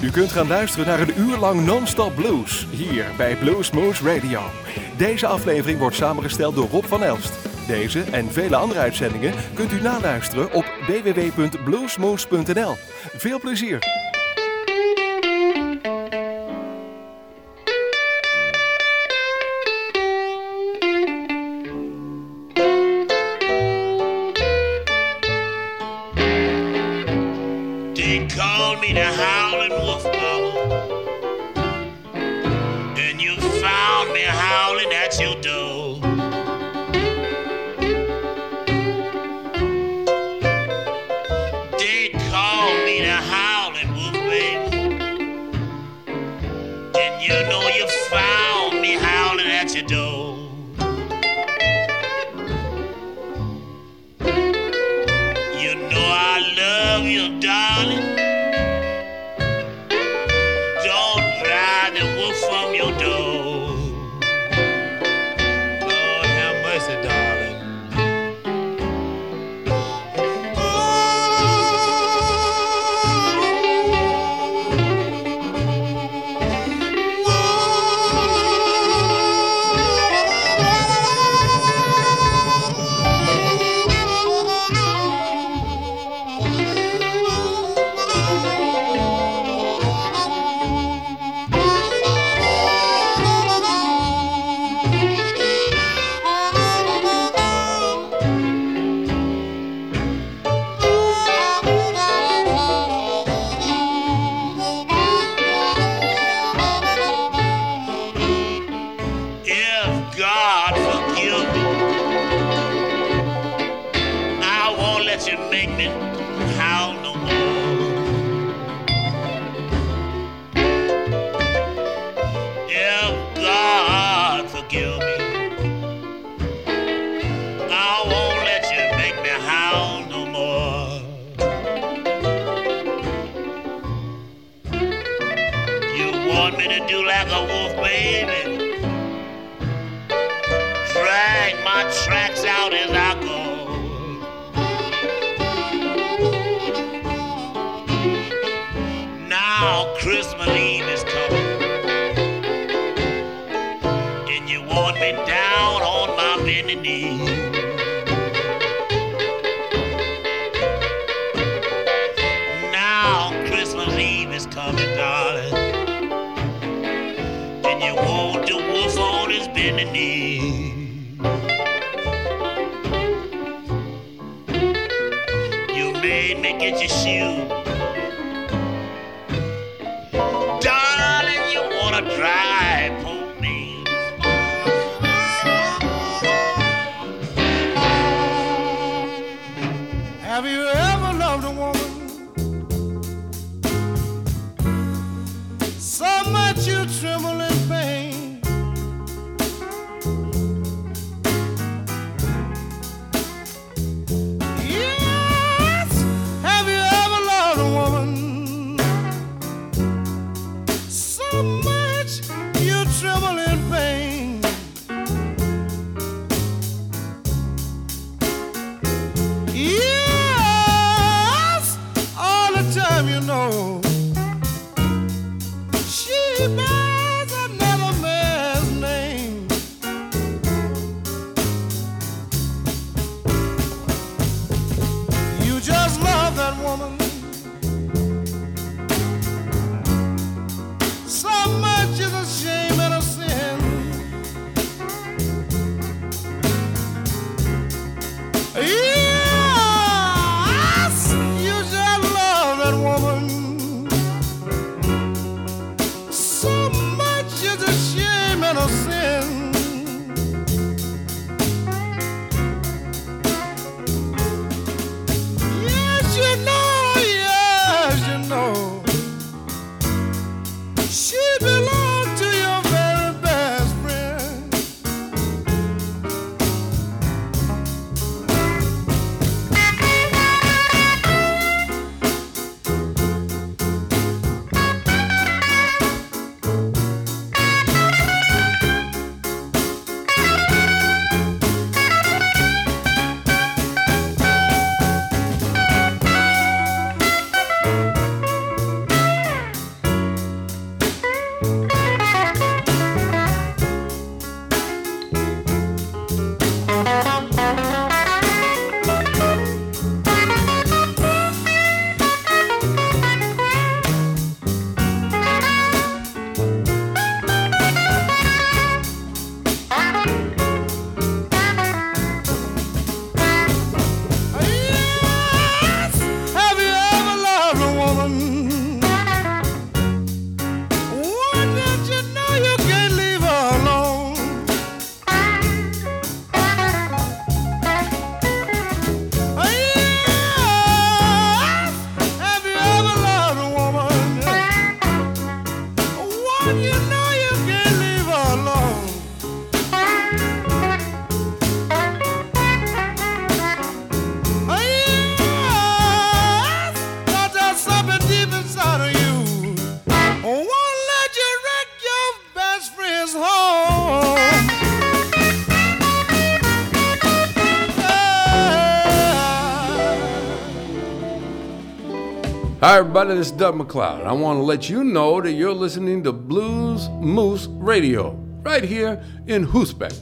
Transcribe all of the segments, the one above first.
U kunt gaan luisteren naar een uur lang non-stop blues, hier bij Bluesmoose Radio. Deze aflevering wordt samengesteld door Rob van Elst. Deze en vele andere uitzendingen kunt u naluisteren op www.bluesmoose.nl. Veel plezier! They called me the Howlin' Wolf, mama, and you found me howling at your door. They called me the Howlin' Wolf, baby, and you know you found me howling at your door. You know I love you, darling. Don't drive the wolf from your door. Lord have mercy, darling. If God forgive me, I won't let you make me howl no more. If God forgive me, I won't let you make me howl no more. You want me to do like a wolf, baby? Drag my tracks out as I go. Now Christmas Eve is coming, and you want me down on my bending knee. Now Christmas Eve is coming, darling, and you want the wolf on his bending knee. You made me get your shoe. Darling, you wanna drive for me. Have you ever loved a woman so much you tremble in pain? Yes. Have you ever loved a woman so much you tremble in pain? Yes, all the time, you know. She buys Hi, everybody, this is Doug McLeod. I want to let you know that you're listening to Blues Moose Radio, right here in Hoosbeck.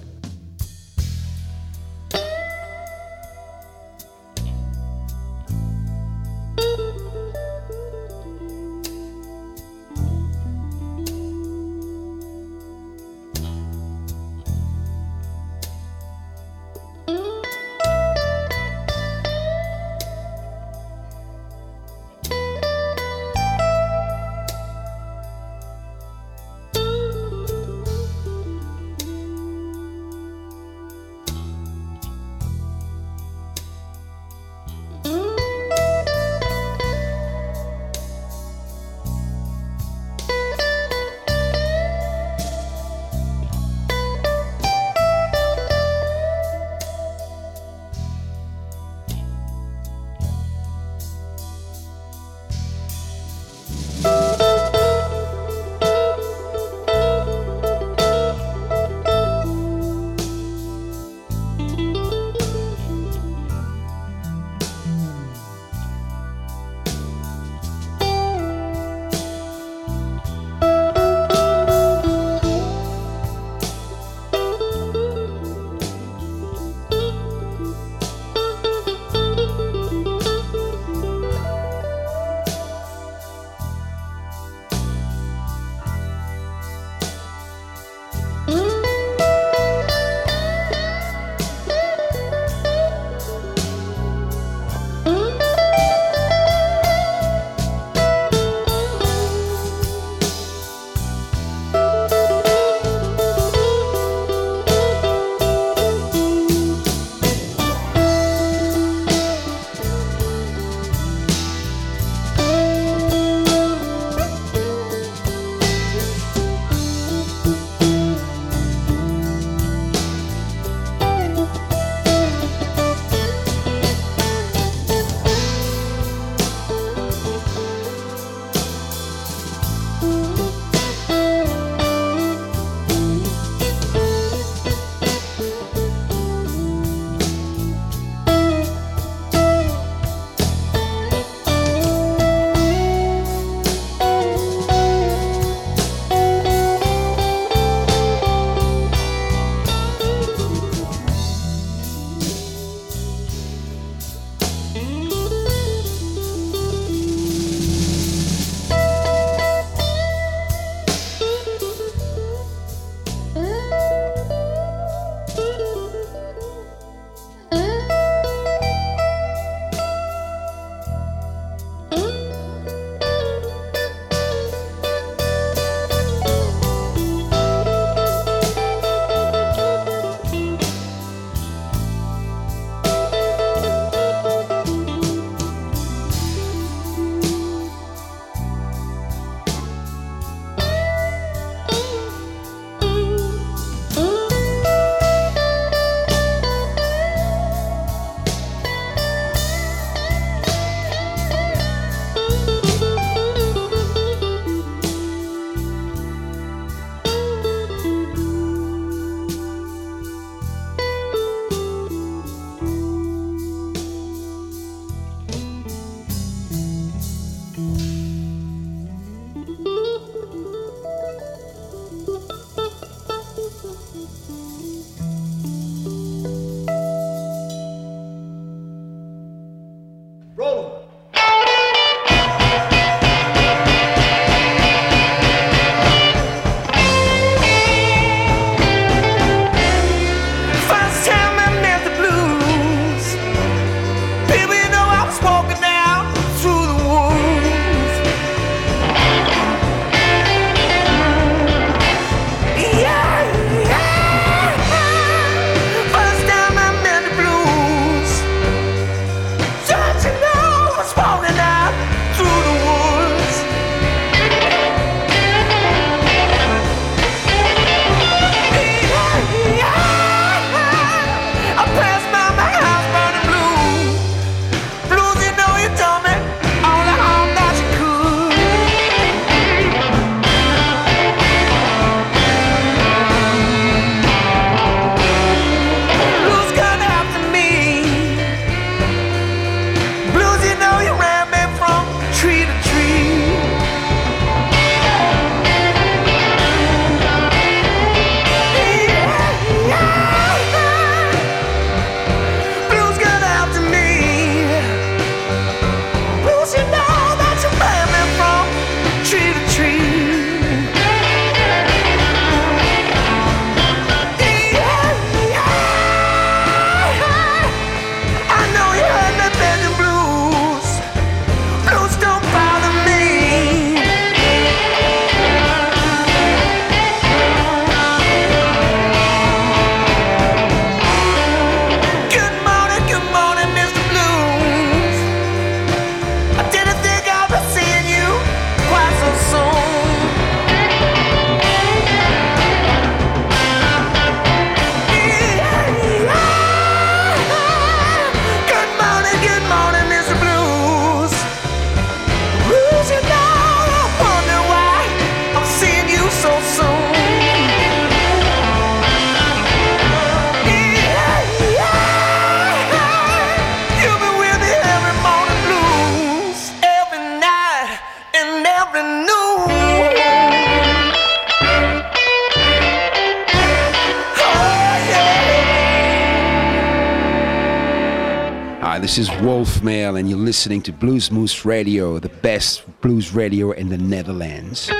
This is Wolf Mail, and you're listening to Blues Moose Radio, the best blues radio in the Netherlands.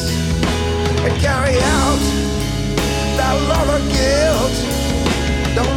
Don't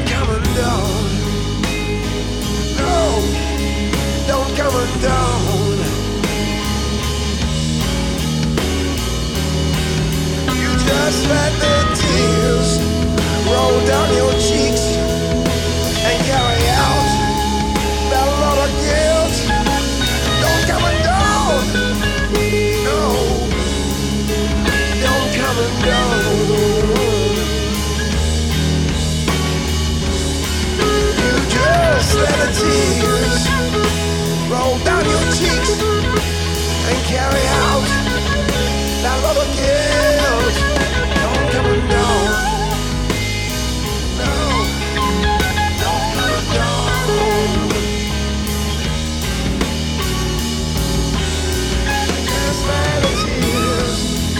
let the tears roll down your cheeks and carry out that rubber guilt. Don't come undone. No, don't come undone. Just let the tears.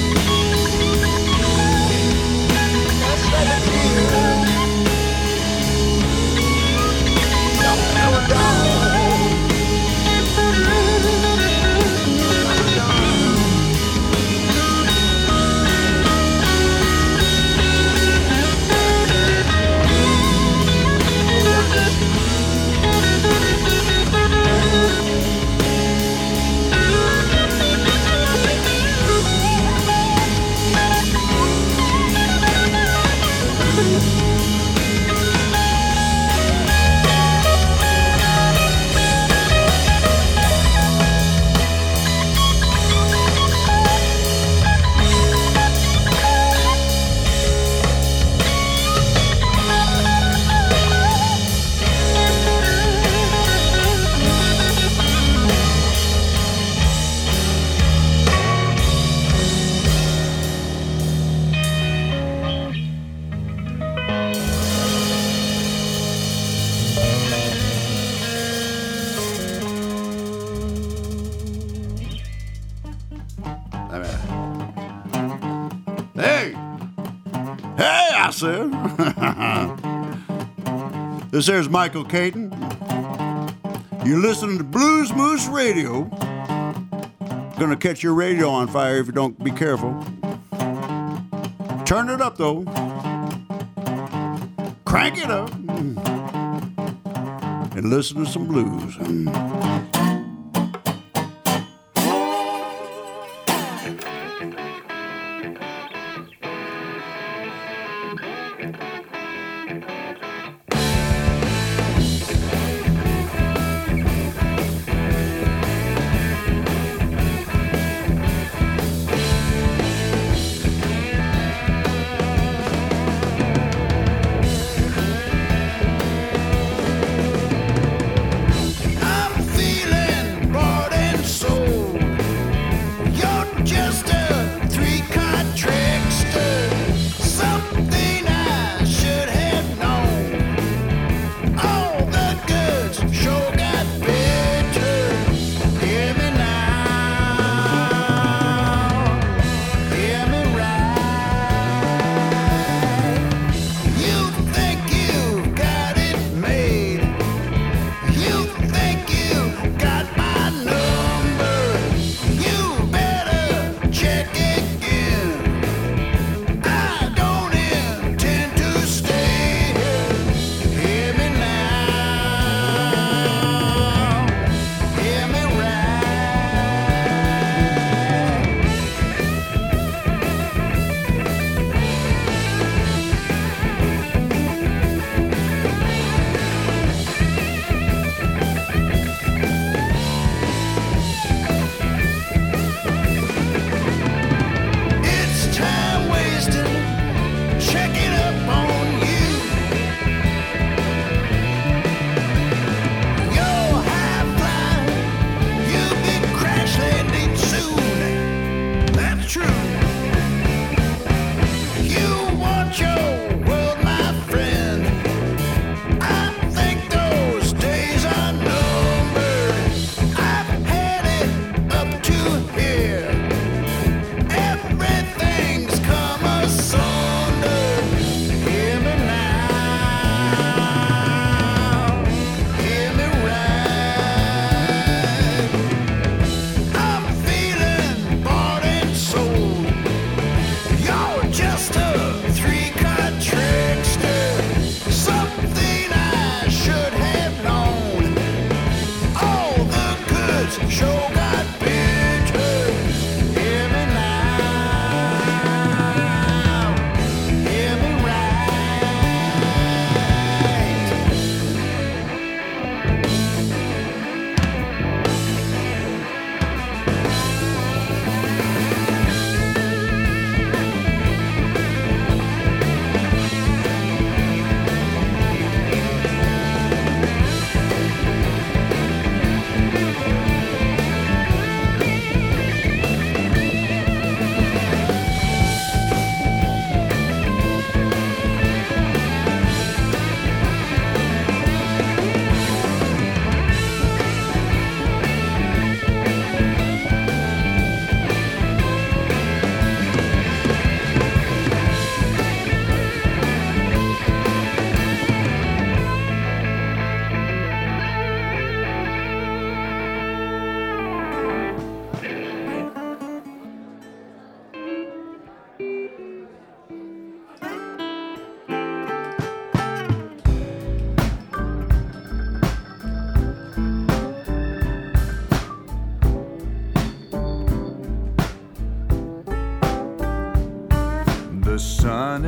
Just let the tears. Don't come undone. This here's Michael Caton. You're listening to Blues Moose Radio. Gonna catch your radio on fire if you don't be careful. Turn it up though. Crank it up. And listen to some blues. I'm feeling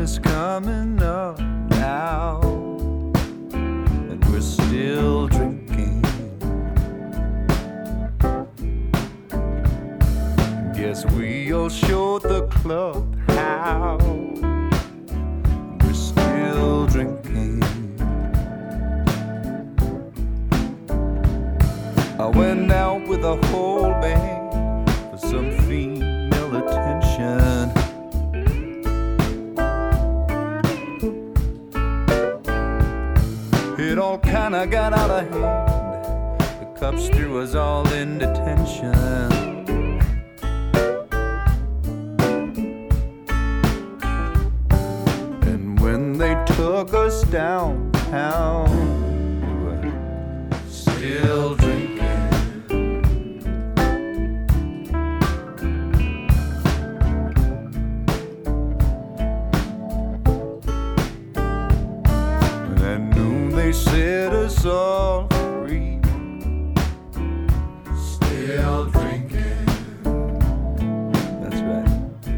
is coming up now, and we're still drinking. Guess we'll show the club how we're still drinking. I went out with a whole band for some female attention. It all kinda got out of hand. The cops threw us all in detention. And when they took us downtown, we were still drinking. They set us all free. Still drinking. That's right.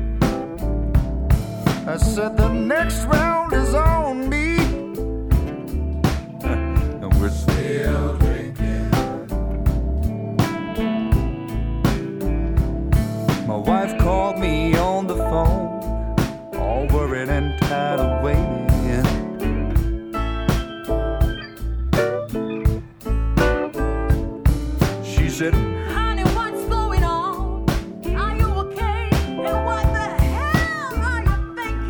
I said the next round is on me, and we're still drinking. My wife called me on the phone, all worried and tired of waiting. Said, honey, what's going on? Are you okay? And what the hell are you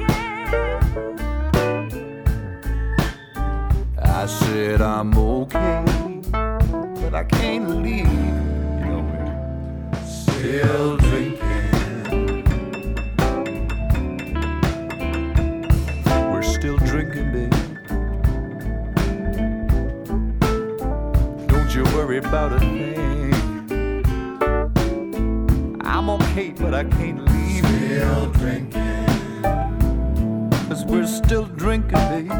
thinking? I said, I'm okay, but I can't leave. You know, we're still drinking. We're still drinking, baby. Don't you worry about a thing. I'm okay, but I can't leave. Still drinking. 'Cause we're still drinking, babe.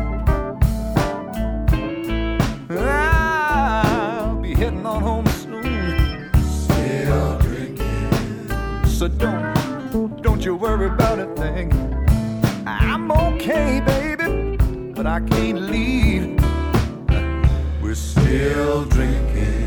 I'll be heading on home soon. Still drinking. So don't you worry about a thing. I'm okay, baby, but I can't leave. We're still drinking.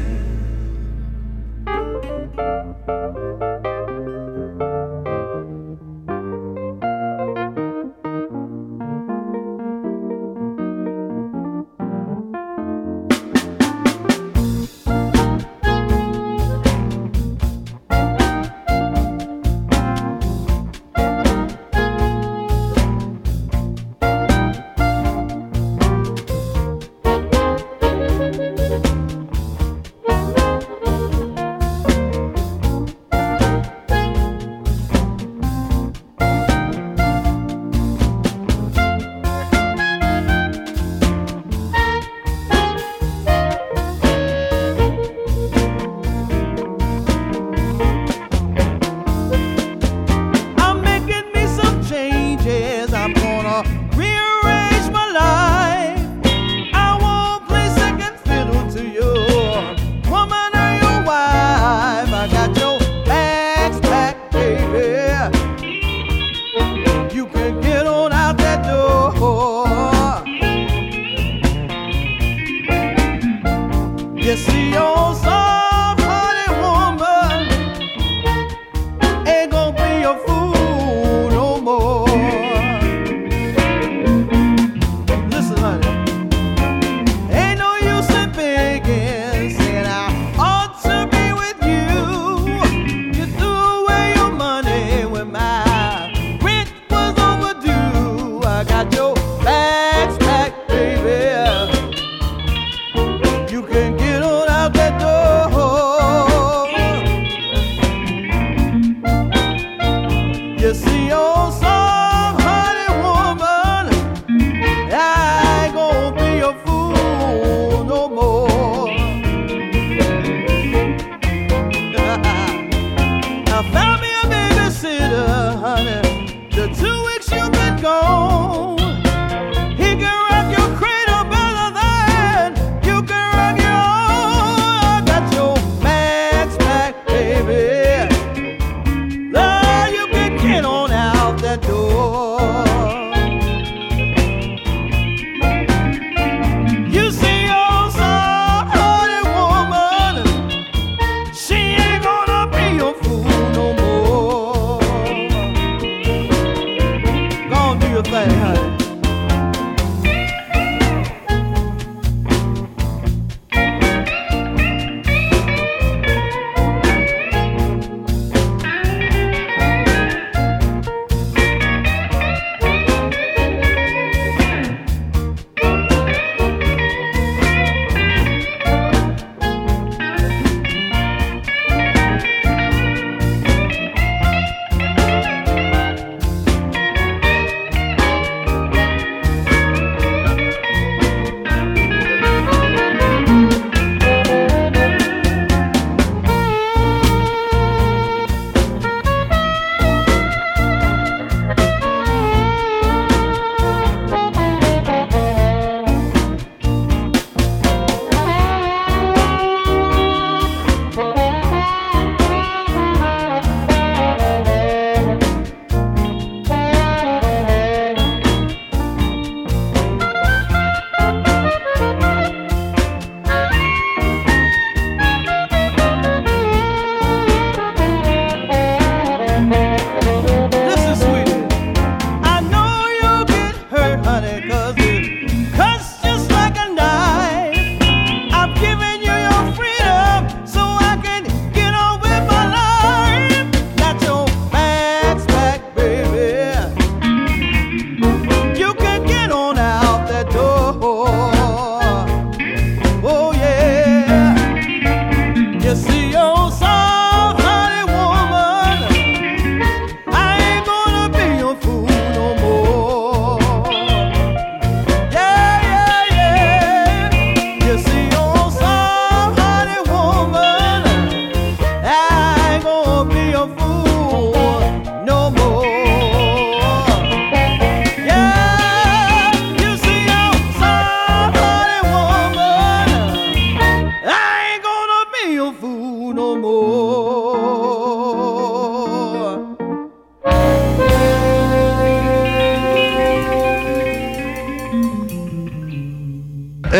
You can get on out that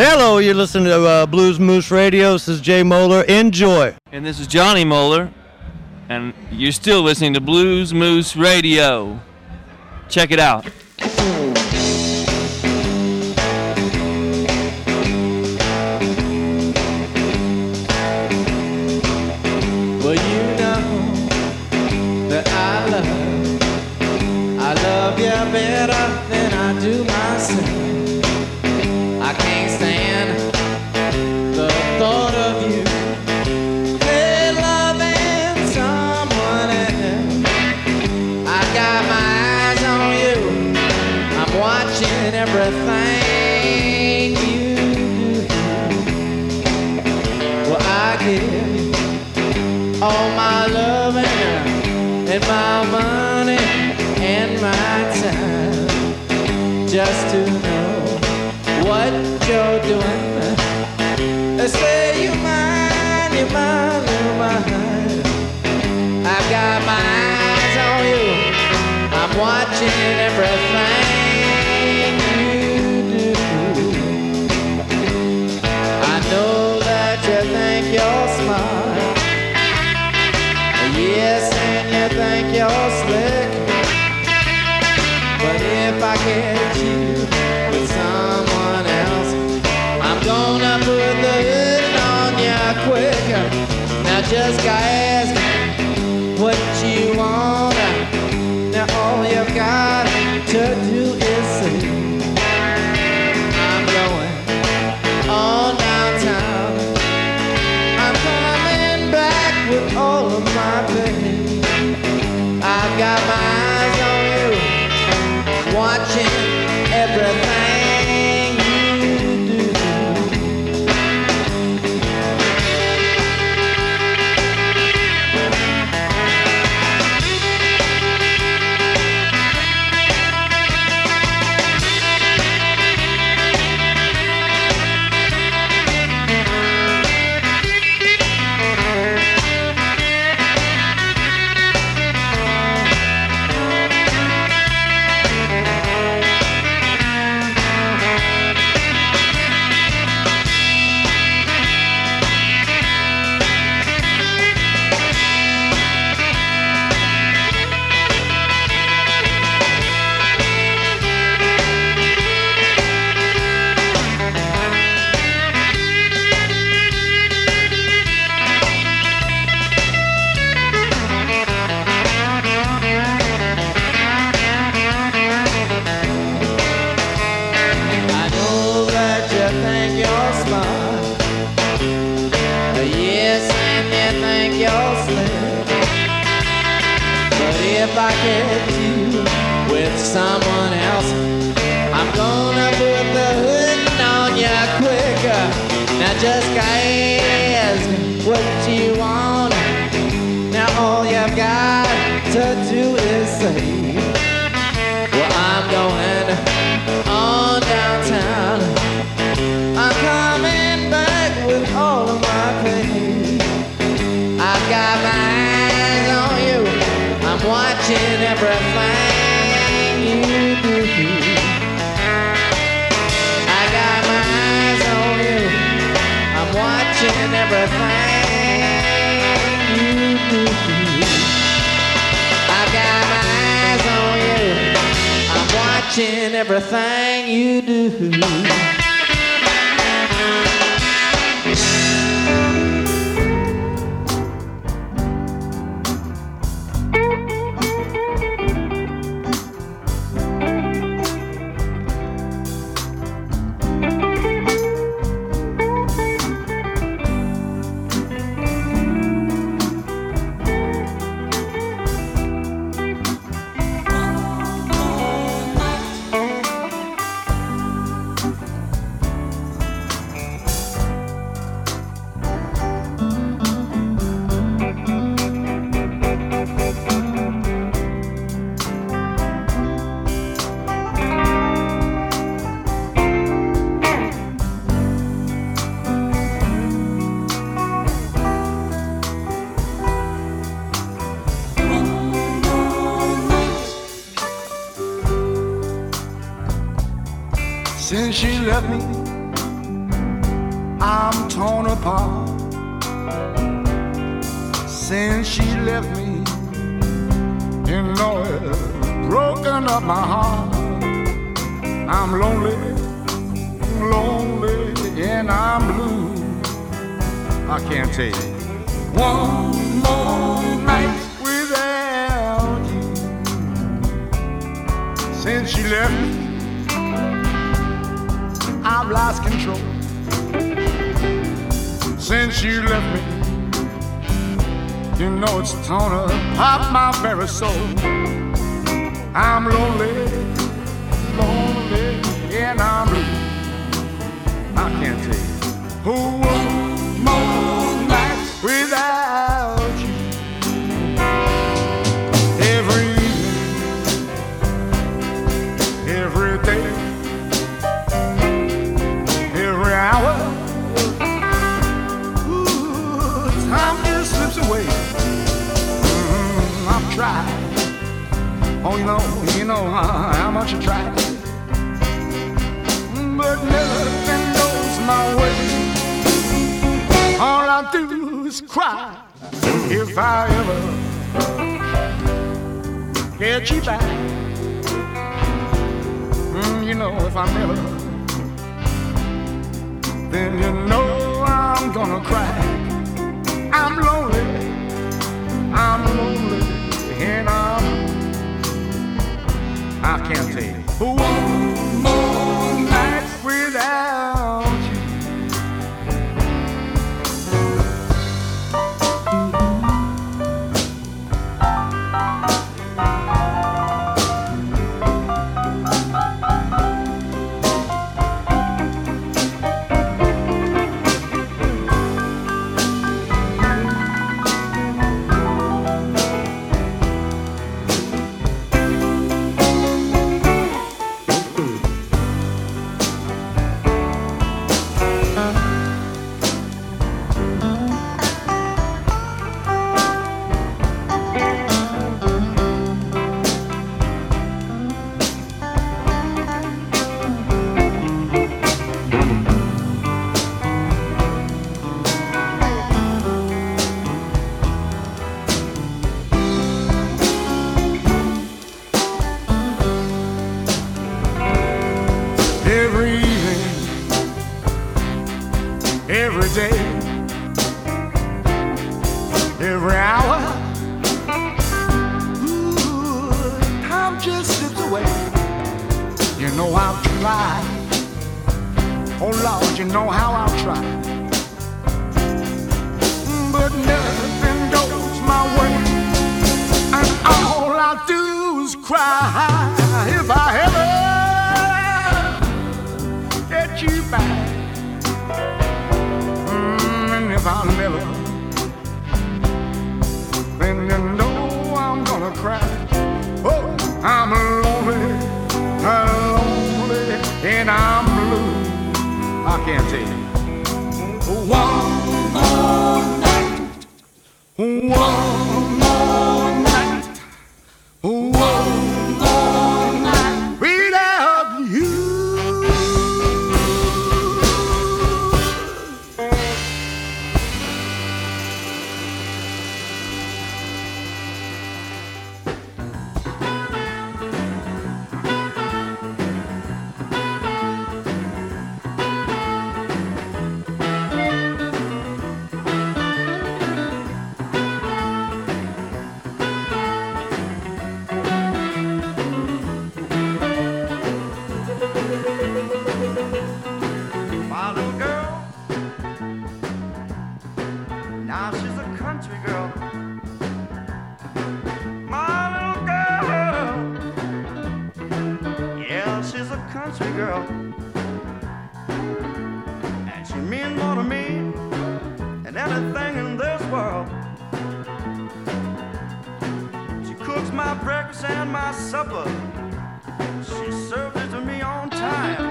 Hello, you're listening to Blues Moose Radio. This is Jay Moeller. Enjoy. And this is Johnny Moeller. And you're still listening to Blues Moose Radio. Check it out. Well, you know that I love you better than I do myself. I can't stand the thought of you loving someone else. I got my eyes on you. I'm watching everything you do. Well, I give you all my loving and my money and my time just to know what you're doing. They say you're mine, you're mine, you're mine. I've got my eyes on you. I'm watching everything you do. I know that you think you're smart. Yes, and you think you're slick. But if I catch you with someone else, I'm gonna put the hood on you quick. Now just ask what you want. Now all you've got to do is say, I'm going on downtown. I'm coming back with all of my pain. I've got my eyes on you, watching everything you do. If I get you with someone else, I'm gonna put the hood on you quicker. Now just ask what you want. Now all you've got to do is say, well, I'm going on downtown. I'm coming back with all of my pain. I've got my eyes on you. I'm watching everything you do. I got my eyes on you. I'm watching everything you do. I got my eyes on you. I'm watching everything you do. Since she left me, I'm torn apart since she left me. You know it's broken up my heart. I'm lonely, lonely, and I'm blue. I can't take one more night without you. Since she left me, I've lost control. Since you left me, you know it's torn apart my very soul. I'm lonely, lonely, and I'm blue. I can't take one more night without you. Every evening, every day, every hour, ooh, time just slips away. I've tried. Oh, you know how much I tried. But nothing goes my way. All I do is cry if I ever get you back. You know, if I never, then you know I'm gonna cry. I'm lonely, and I can't take one more night without you. Every evening, every day, every hour, ooh, time just slips away. You know I've tried. Oh Lord, you know how I've tried. But nothing goes my way, and all I do is cry if I ever get you back. And if I'll never, then you know I'm gonna cry. Oh, I'm lonely, and I'm blue. I can't take it. One more night, one more night, one more night without you. My little girl, now she's a country girl. My little girl, yeah, she's a country girl. And she means more to me than anything in this world. She cooks my breakfast and my supper. She serves it to me on time.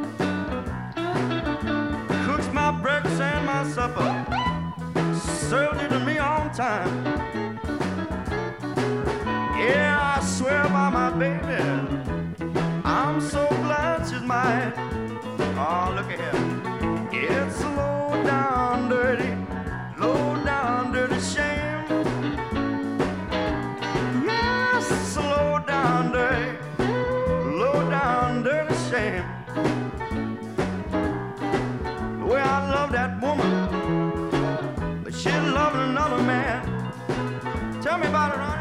Cooks my breakfast and my supper. Served it to me on time. Yeah, I swear by my baby, I'm so glad she's mine. Oh, look at here. It's slow love that woman, but she's loving another man. Tell me about it, honey.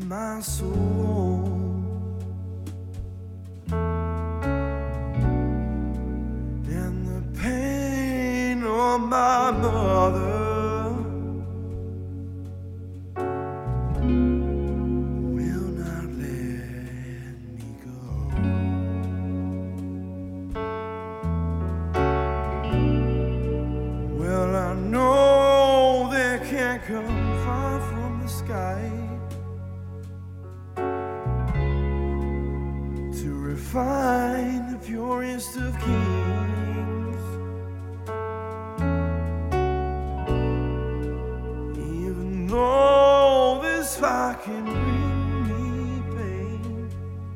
my soul. And the pain of my mother will not let me go. Well, I know they can't come far from the sky to refine the purest of kings. Even though this fire can bring me pain,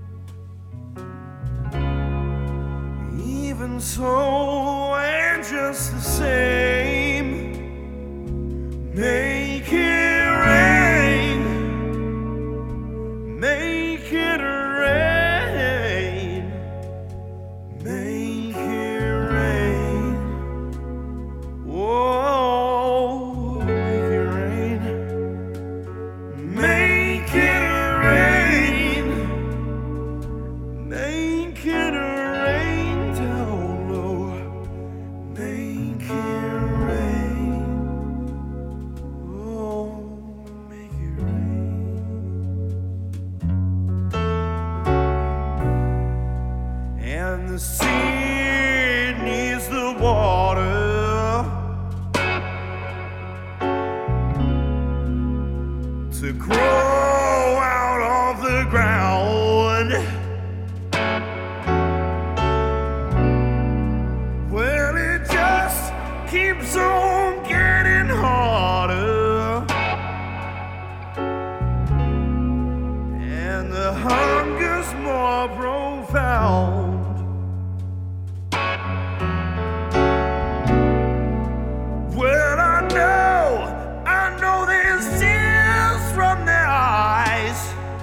even so, and just the same, make it rain, make it rain, make it rain, whoa, make it rain, make it rain, make it rain down low, make it rain. Oh, make it rain. And the sea needs the water to grow out of the ground. Well, it just keeps on getting harder, and the hunger's more profound. Well, I know there's tears from their eyes,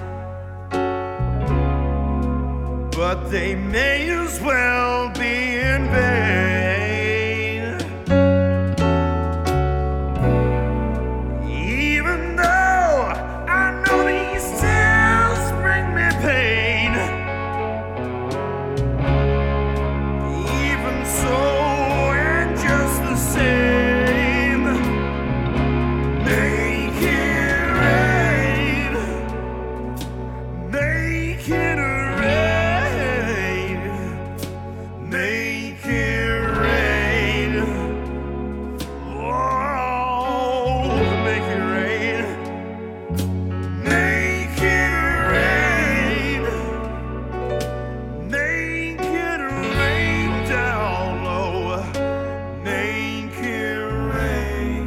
but they may as well be in vain. Even though I know these tears bring me pain, even so, and just the same, make it rain, make it rain, make it rain, oh, make it rain, make it rain, make it rain down low, make it rain,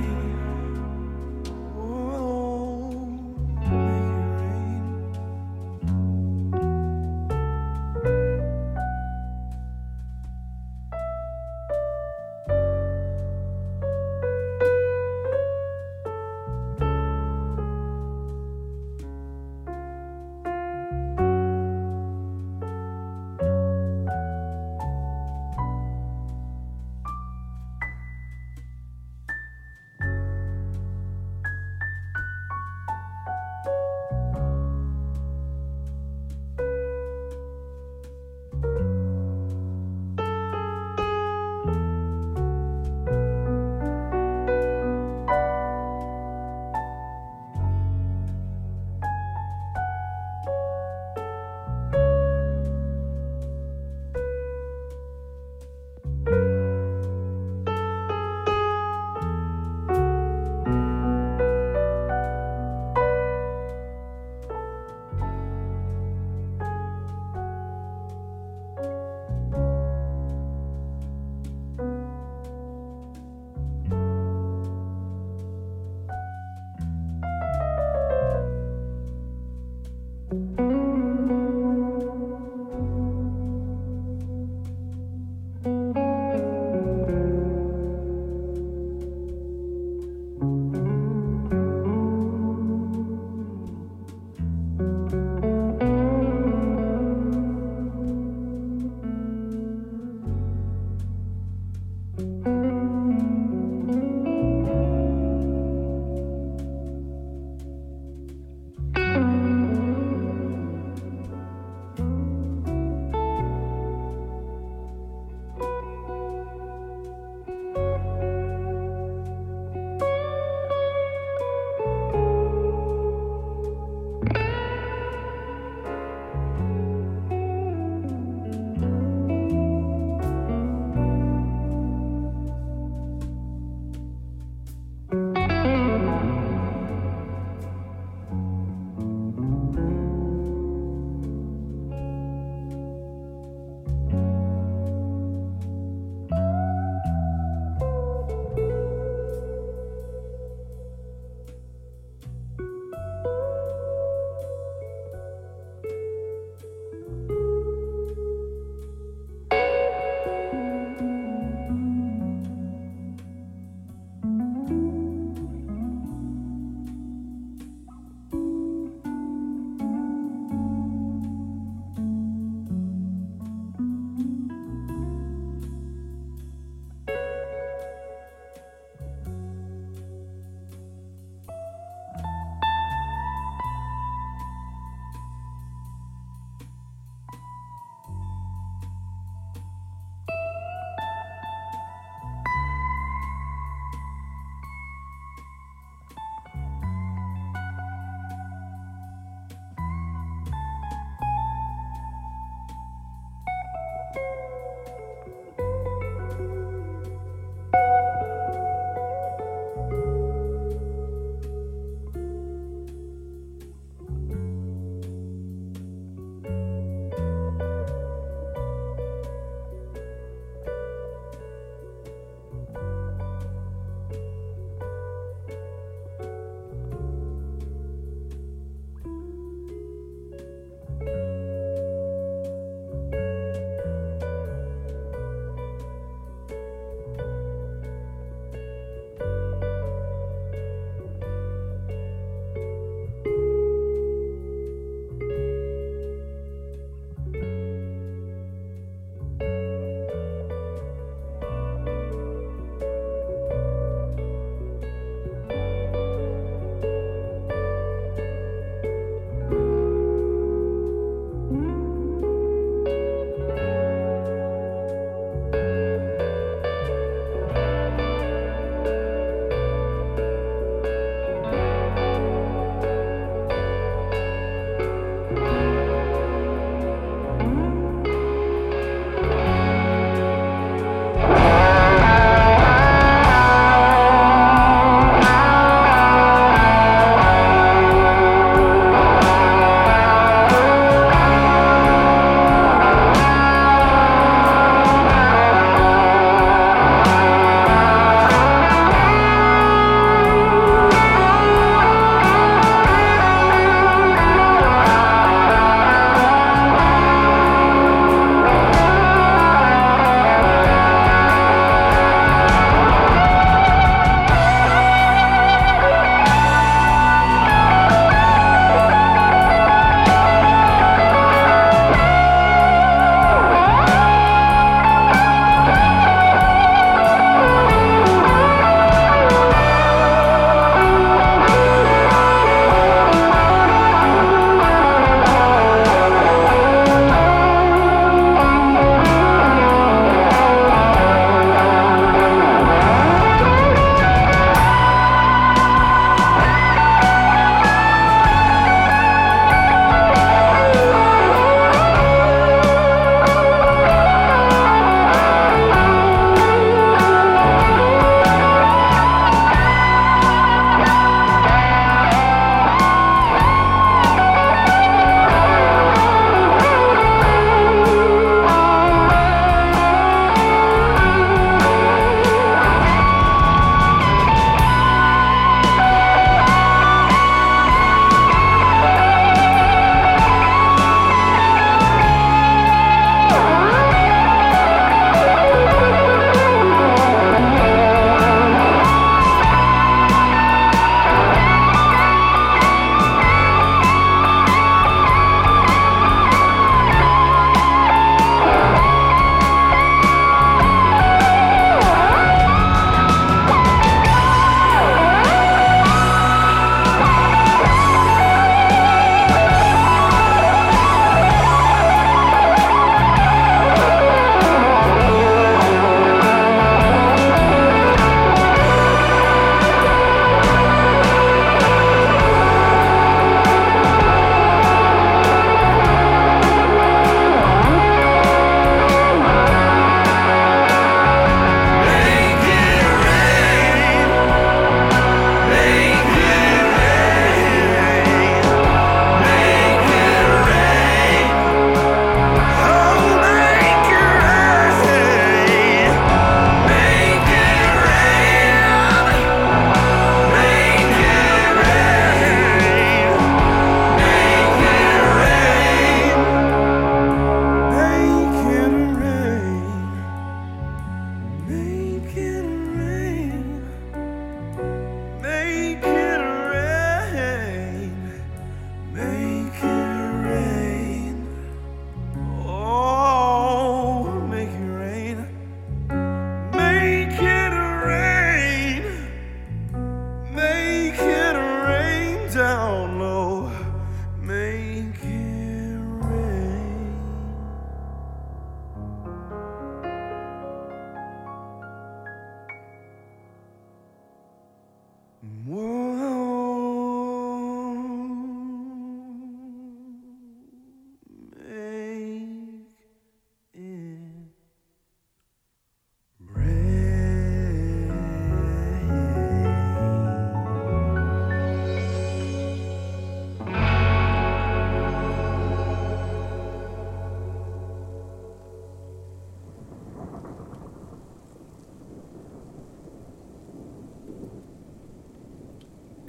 oh,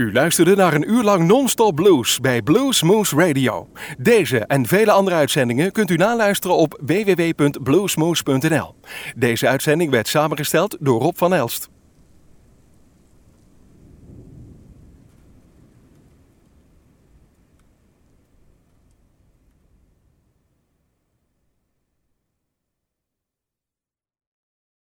U luisterde naar een uur lang non-stop blues bij Blues Moose Radio. Deze en vele andere uitzendingen kunt u naluisteren op www.bluesmoose.nl. Deze uitzending werd samengesteld door Rob van Elst.